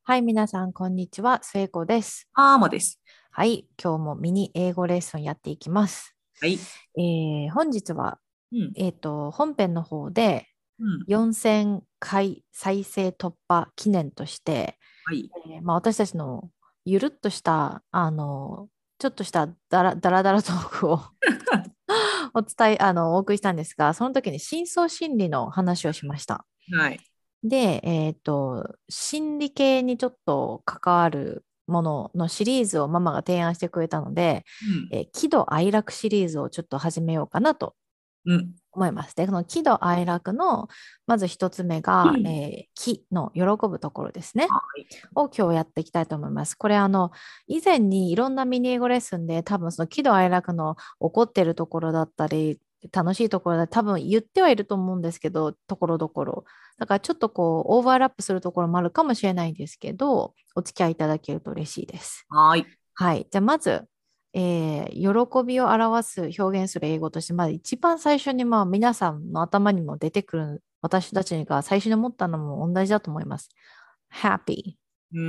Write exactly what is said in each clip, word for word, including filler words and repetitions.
はい、皆さん、こんにちは。末子です。 あーもです。 はい、今日もミニ英語レッスンやっていきます。 はい。 えー本日は、 うん。 えっと、本編の方でうん。 よんせんかい再生突破記念として、 はい。 えーまあ、私たちのゆるっとした、あの、ちょっとしただらだらだらトークをお伝え、あの、お送りしたんですが、その時に深層心理の話をしました。 はい。 で、えっと、心理系にちょっと関わるもののシリーズをママが提案してくれたので、 うん。 えー喜怒哀楽シリーズをちょっと始めようかなとうん。 思います。で、この喜怒哀楽の、まず一つ目が、えうん。 ー喜の喜ぶところですね。 はい。 を今日やっていきたいと思います。これあの、以前にいろんなミニ英語レッスンで多分その喜怒哀楽の起こってるところだったり、楽しいところだ多分言ってはいると思うんですけど、ところどころ。だからちょっとこう、オーバーラップするところもあるかもしれないんですけど、お付き合いいただけると嬉しいです。 はい。 はい。じゃあまず、えー喜びを表す、表現する英語として、まず一番最初にまあ皆さんの頭にも出てくる私たちが最初に思ったのも同じだと思います。happy。 うん。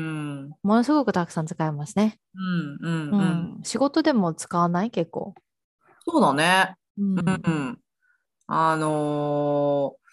ものすごくたくさん使いますね。 うん。うん。うん。 うん。仕事でも使わない結構。 そうだね。 うん。 うん。あのー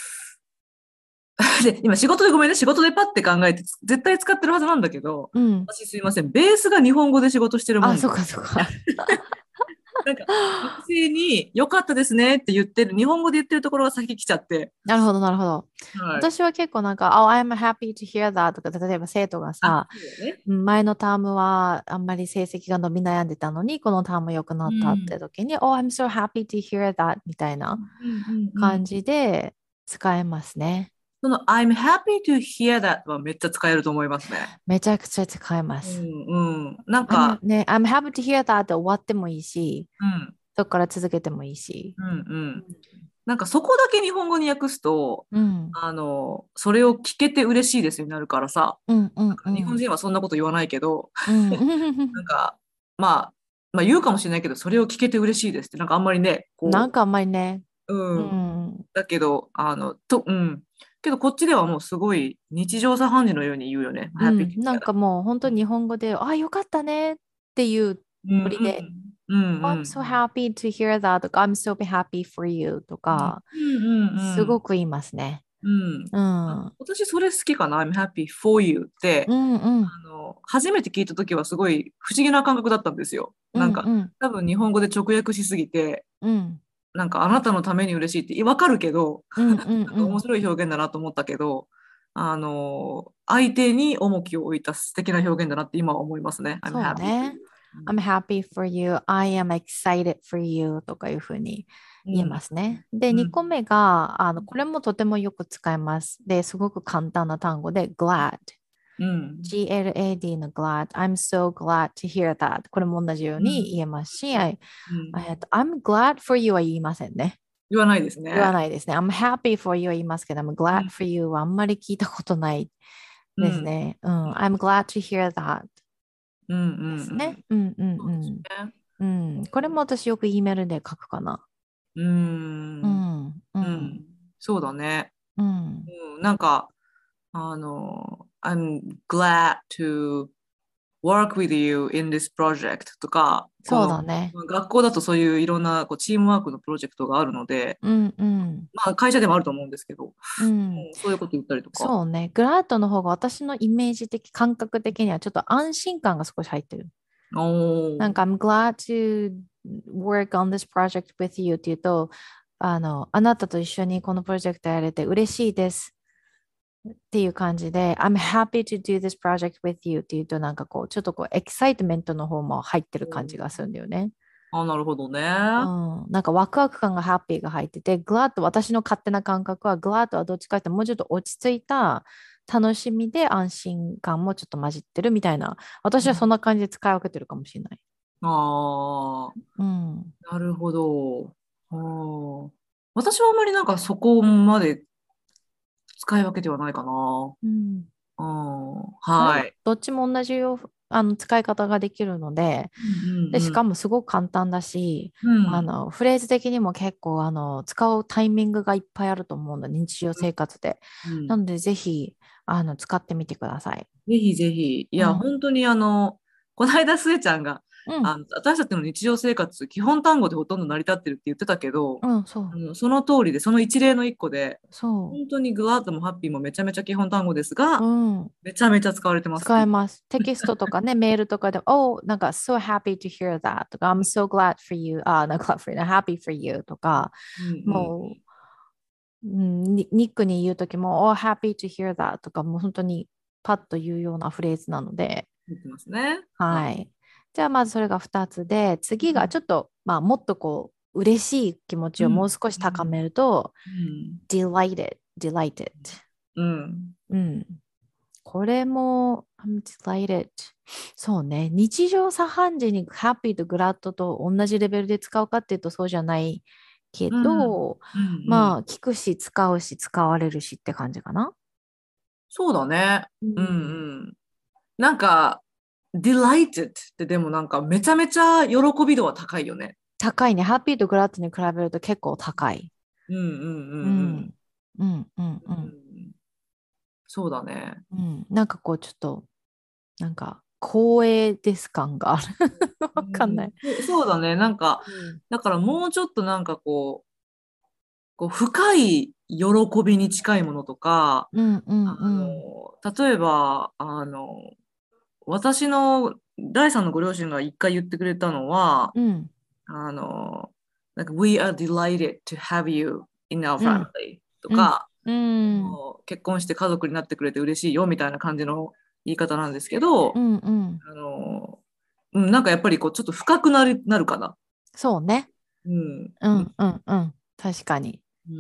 で、今仕事でごめんね。仕事でパッて考えて、絶対使ってるはずなんだけど、 うん。 私すいません。ベースが日本語で仕事してるもあ、 んで。 そっかそっか。 なんか、学生に良かったですねって言ってる、日本語で言ってるところが先来ちゃって。 なるほど、なるほど。 はい。 私は結構なんか、Oh, I'm happy to hear that とか、例えば生徒があ、 さ、 そうだね。 うん前のタームはあんまり成績が伸び悩んでたのに、このターム良くなうったってん。 時に、Oh, I'm so happy to hear that みたいなうんうんうんうん。 感じで使えますね。 その I'm happy to hear that はめっちゃ使えると思いますね。 めちゃくちゃ使えまうす。 んうん。なん I'm, か、 ね、I'm happy to hear that で終わってもいいし、 うん、 そこから続けてもいいし。 うんううん。なんかそこだけ日本語に訳すと、 ん、 あの、それを聞けて嬉しいですになるからさ、 うん、うん、 なんか日本うん。 人はそんなこと言わないけど、 うん。 なんか、まあ、まあ言うかもしれないけど、それを聞けて嬉しいですって、なんかあんまりね、こなんかあんまりね、 う、 ううん。 ん、 だけど、あの、と、うん。けどこっちではもうすごい日常茶飯事のように言うよね。 う happy to ん、なん hear か that。 もう本当に日本語で、あ、よかったねっていううんノリで、 うんうんう Oh, ん I'm う so ん happy to hear that とか、I'm so happy for you とうんか、 うんうんすごく言いますね。 うん。 うん、うん、 私それ好きかな。I'm happy for you って、 うん、うん、 あの、初めて聞いたときはすごい不思議な感覚だったんですよ。 うん、 なんか、 うん、 多分日本語で直訳しすぎて、 うん、 なんかあなたのために嬉しいってわかるけど、 うん、 なんか面うん。 白い表現だなと思ったけど、あの、相手に重きを置いた素敵な表現だなって今は思いますね。I'm そう happy for ね。 you。 I'm happy for you. I am excited for you とかいうふうに言えうん。 ますね。で、2 うん。 個目が、あの、これもとてもよく使います。で、すごく簡単な単語で glad。 うん。 ジーエルエーディー の glad。I'm so glad to hear that。これも同じよううん。 に言えますし、I- うん。 えっと I'm glad for you は言いませんね。 言わないです言わね。 ないですね。I'm happy for you は言いますけど、I'm う glad ん。 for you はあんまり聞いたことないうん。 ですね。うん。I'm glad to hear that うん。うん。 ですね。 うん。 うんうんそうですうんね。 うん。これも私よく E メールで書くかな。 うーうん。 ん、うん、 うん。そうだね。 うん。 うん。なんか、あの、I'm glad to work with you in this project とか、こそうの、 だね。 学校だとそういういろんなこうチームワークのプロジェクトがあるので、 うん、うん、 まあ会社でもあると思うんですけど、うんうん。 そういうこと言ったりとか。 そうね。グラッドの方が私のイメージ的、感覚的にはちょっと安心感が少し入ってる。 おー。 なんか、I'm glad to work on this project with you っていうと、あの、あなたと一緒にこのプロジェクトやれて嬉しいですっていう感じで、I'm happy to do this project with you っていうと、なんかこう、ちょっとこう、エキサイトメントの方も入ってる感じがするんだよね。 あ、なるほどうね。 ん、なんかワクワク感がハッピーが入ってて、グラッド、私の勝手な感覚は、グラッドはどっちかっていうともうちょっと落ち着いた楽しみで安心感もちょっと混じってるみたいな、私はそんな感じで使い分けてるかもしれない。 あうん。 あ、なるほど。あー私はあんまりなんかそこまで使い分けてはないかな。 うん。 うん、 あれはい。 どっちも同じよ。 あの使い方ができるので、で、しかもすごく簡単だし、あの、フレーズ的にも結構、あの、使うタイミングがいっぱいあると思うので、日常生活で。なので、ぜひ、あの、使ってみてください。 ぜひぜひ。いや、 うん。 本当にあの、この間、スエちゃんが、 うん。 あの、私たちの日常生活、基本単語でほとんど成り立ってるって言ってたけど、 うん、そう。 あのその通りで、その一例の一個で、 そ本当にグワードもハッピーもめちゃめちゃ基本単語ですう。 が、 うん。 めちゃめちゃ使われてますっていう。 使えます。テキストとかね、メールとかで、Oh, なんか、so happy to hear that とか、I'm so glad for you, あ、なんか、glad for you, happy for you とか、 うんうんもう、うん、ニニックに言うときも、Oh, happy to hear that とか、もう本当にパッと言うようなフレーズなので、 言ってますね。はい。 はい。じゃあ、まずそれがふたつで、次がちょっと、まあ、もっとこう、嬉しい気持ちをもううん。 少し高めると、 うん。 delighted, delighted。 うん。 うん。これも、I'm delighted。そうね。日常茶飯事に happy と glad と同じレベルで使うかっていうとそうじゃないけうん。 ど、 うん。うん。 まあ、聞くし、使うし、使われるしって感じかな。 そうだね。 ううんん。 うん。なんか、delighted ってでもなんかめちゃめちゃ喜び度は高いよね。 高いね。happy と glad に比べると結構高い。 うんうんうんうん。 うん。うん、うん、ううん。 ん、そうだね。 うん。なんかこう、ちょっと、なんか、光栄です感がある。 うわかんなん、 い。 そうそうだね。なんか、 うん。 だからもうちょっとなんかこう、こう深い喜びに近いものとか、 うん、うん、 あうん。 の、例えば、あの、私の第三のご両親が一回言ってくれたのは、 うん、 あの、なんか We are delighted to have you in our うん、 family とうん、 か、 うん、 もう結婚して家族になってくれて嬉しいよみたいな感じの言い方なんですけど、 うん、うん。 あの、うん、なんかやっぱりこうちょっと深くなる、なるかな。 そうね。 うん。うん。 うん、うん、うん。確かに。 うん。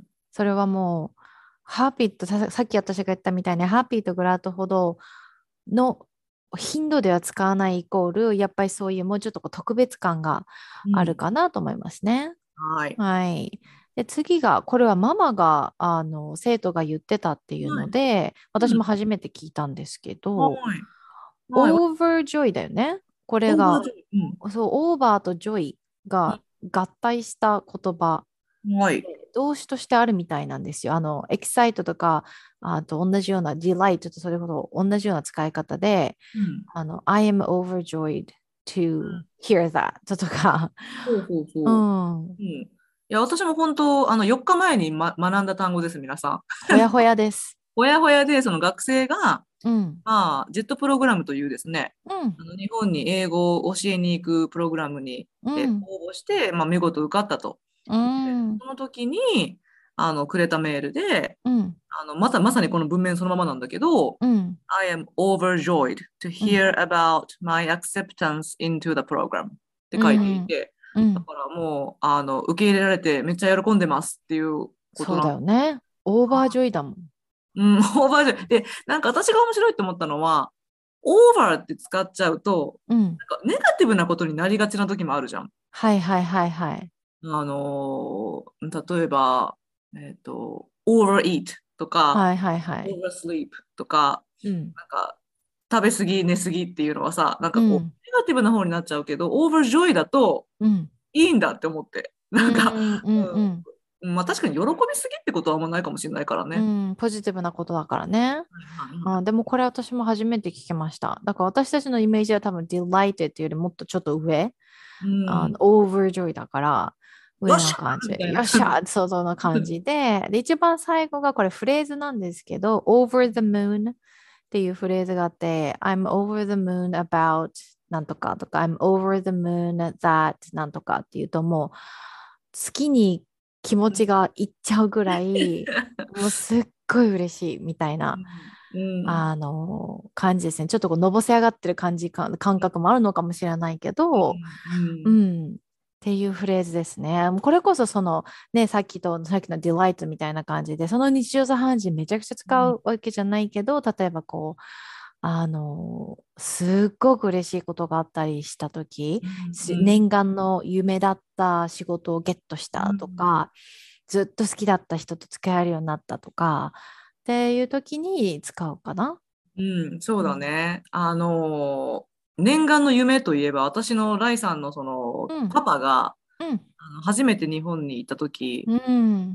それはもう、ハーピーとさ、さっき私が言ったみたいに、ハーピーとグラッドほどの頻度では使わないイコール、やっぱりそういうもうちょっとこう特別感があるうん。 かなと思いますね。 はい。 はい。で、次が、これはママが、あの、生徒が言ってたっていうはい。 ので、私もうん。 初めて聞いたんですけはど、 い。はい。 overjoy だよね。これが、 オーバージョイ。うん。 そう、オーバーとジョイが合体した言葉はい。 動詞としてあるみたいなんですよ。あの、エキサイトとか、あと同じような delight とそれほど同じような使い方で、 うん。 あの、I am overjoyed to hear that とか、 そうそううそう。 ん、 うん。いや、私も本当、あの、よっかまえに、ま、学んだ単語です、皆さん。 ほやほやです。 ほやほやで、その学生が、 うん、 まあ、ジェットプログラムというですね、 うん、 あの日本に英語を教えに行くプログラムに、えうん、 応募して、まあ、見事受かったと。 うん、 その時に、あの、くれたメールで、 うん、 あの、まさ、まさにこの文面そのままなんだけど、 うん、 I am overjoyed to うん、 hear about my acceptance into the program ってう書いていん、 て、 うん。 だからもう、あの、受け入れられてめっちゃ喜んでますっていうことそうだなの。 よね。オーバージョイだもん。 うん、オーバージョイ。で、なんか私が面白いと思ったのは、オーバーって使っちゃうと、 うん。 なんかネガティブなことになりがちな時もあるじゃん。 はいはいはいはい。 あのー例えば、えっと、overeat とか、 はいはいはい。 oversleep とか、 うん。 なんか、食べ過ぎ、寝過ぎっていうのはさ、なんかこう、 うん。 ネガティブな方になっちゃうけど、overjoy だとうん。 いいんだって思って。 うなんか、 ん。うん。うん。 うん、まあ確かに喜びすぎってことはあんまないかもしれないからね。 うん、ポジティブなことだからね。 はいはいはあ、でもこれ私も初めて聞きました。だから私たちのイメージは多分 delighted っていうよりもっとちょっと上、 い。うあの、 ん。 overjoy だから、上よっしゃな感じ。 ーみたいなよっし感じ。 ゃー想像の感じで、で、一番最後がこれフレーズなんですけど、over the moon っていうフレーズがあって、I'm over the moon about なんとかとか、I'm over the moon that なんとかっていうともう、月に気持ちがいっちゃうぐらい、もうすっごい嬉しいみたいな、 うん。うん。 あの、感じですね。ちょっとこう、のぼせ上がってる感じか、感覚もあるのかもしれないけど、 うん。 うん、っていうフレーズですね。これこそその、ね、さっきと、さっきのディライトみたいな感じで、その日常茶飯事めちゃくちゃ使うわけじゃないけど、例えばこう、あの、すっごく嬉しいことがあったりしたとき、 うん。うん。 念願の夢だった仕事をゲットしたとか、ずっと好きだった人と付き合えるようになったとか、っていう時に使うかな。 うん、そうだうん。 ね。あの、念願の夢といえば、私のライさんのその、 うん。 パパが、 うん。 あの初めて日本に行った時、 うん。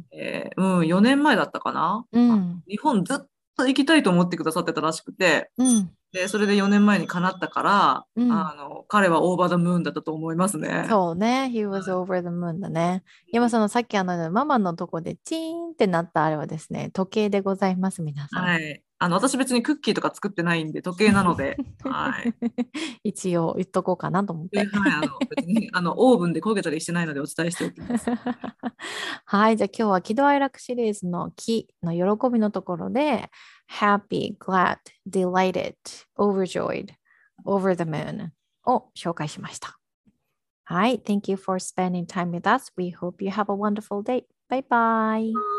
えーうん、よねんまえだったかな。あうん。 日本ずっと行きたいと思ってくださってたらしくて、 うん。 で、それでよねんまえに叶ったから、 うん。 あの、彼はオーバーザムーンだったと思いますね。 そうね。He は was い。 over the moon だね。今そのさっきあのママのとこでチーンってなったあれはですね、時計でございます、皆さん。 はい。あの、私別にクッキーとか作ってないんで、時計なので、はい。 一応言っとこうかなと思っで、 て。 はい、あの、別に、あの、オーブンで焦げたりしてないのでお伝えしておきます。 はい、じゃあ今日は喜怒哀楽シリーズの喜の喜びのところで happy, glad, delighted, overjoyed, over the moon を紹介しました。はい、Thank you for spending time with us. We hope you have a wonderful day. Bye bye.